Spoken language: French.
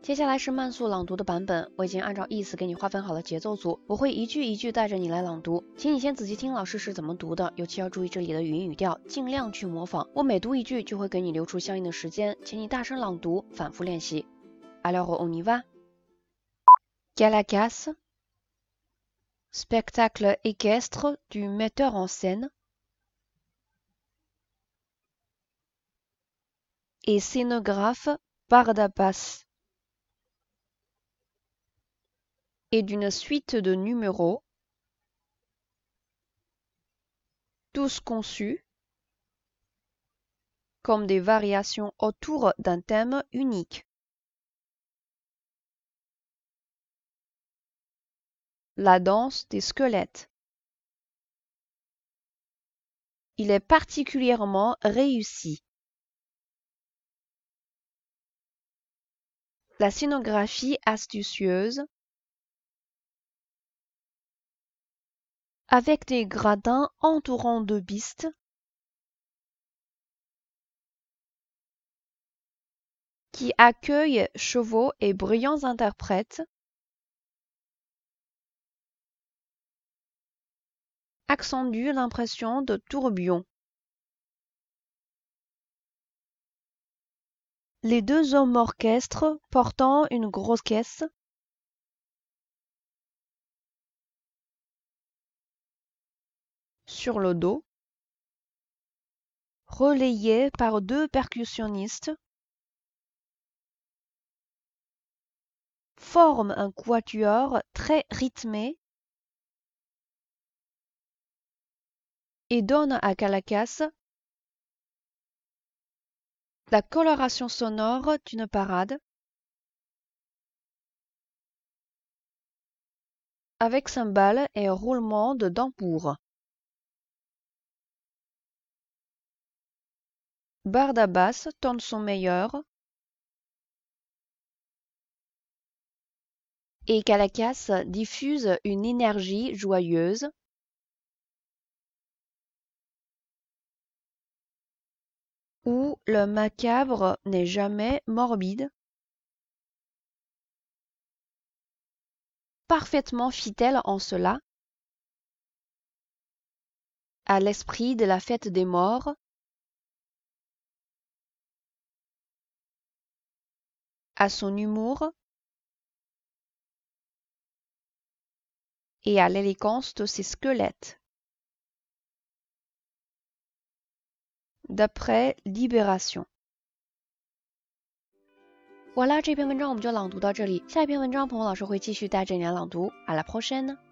接下来是慢速朗读的版本，我已经按照意思给你划分好了节奏组，我会一句一句带着你来朗读，请你先仔细听老师是怎么读的，尤其要注意这里的语音语调，尽量去模仿。我每读一句就会给你留出相应的时间，请你大声朗读，反复练习。Alors on y va. Caracas, spectacle équestre du metteur en scène et scénographe Barnabas et d'une suite de numéros, tous conçus comme des variations autour d'un thème unique. La danse des squelettes. Il est particulièrement réussi. La scénographie astucieuse, avec des gradins entourant deux bistes, qui accueillent chevaux et brillants interprètes, accentue l'impression de tourbillon. Les deux hommes orchestres portant une grosse caisse sur le dos, relayés par deux percussionnistes, forment un quatuor très rythmé et donnent à Caracas la coloration sonore d'une parade avec cymbales et roulements de tambour. Barnabas donne son meilleur et Caracas diffuse une énergie joyeuse où le macabre n'est jamais morbide, parfaitement fidèle en cela à l'esprit de la fête des morts, à son humour et à l'élégance de ses squelettes. D'après Libération。 好啦，这篇文章我们就朗读到这里，下一篇文章彭老师会继续带着你来朗读。À la prochaine。